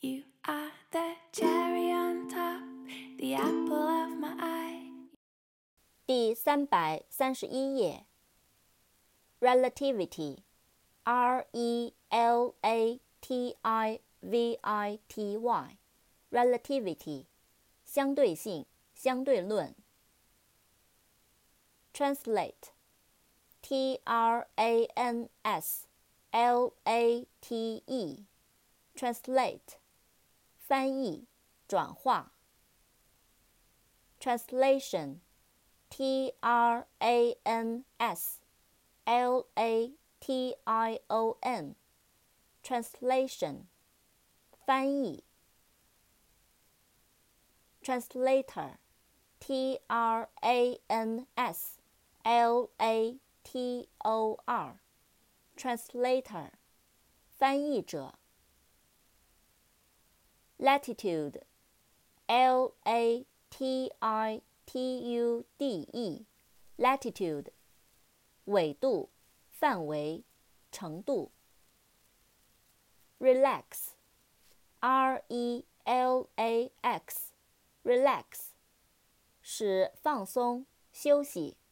You are the cherry on top, the apple of my eye. 第331页 Relativity R-E-L-A-T-I-V-I-T-Y Relativity 相对性相对论 Translate T-R-A-N-S-L-A-T-E Translate 翻译转化 Translation T-R-A-N-S-L-A-T-I-O-N Translation 翻译 Translator T-R-A-N-S-L-A-T-O-R Translator 翻译者 Latitude L-A-T-I-T-U-D-E Latitude 纬度范围程度 Relax R-E-L-A-X Relax 使放松休息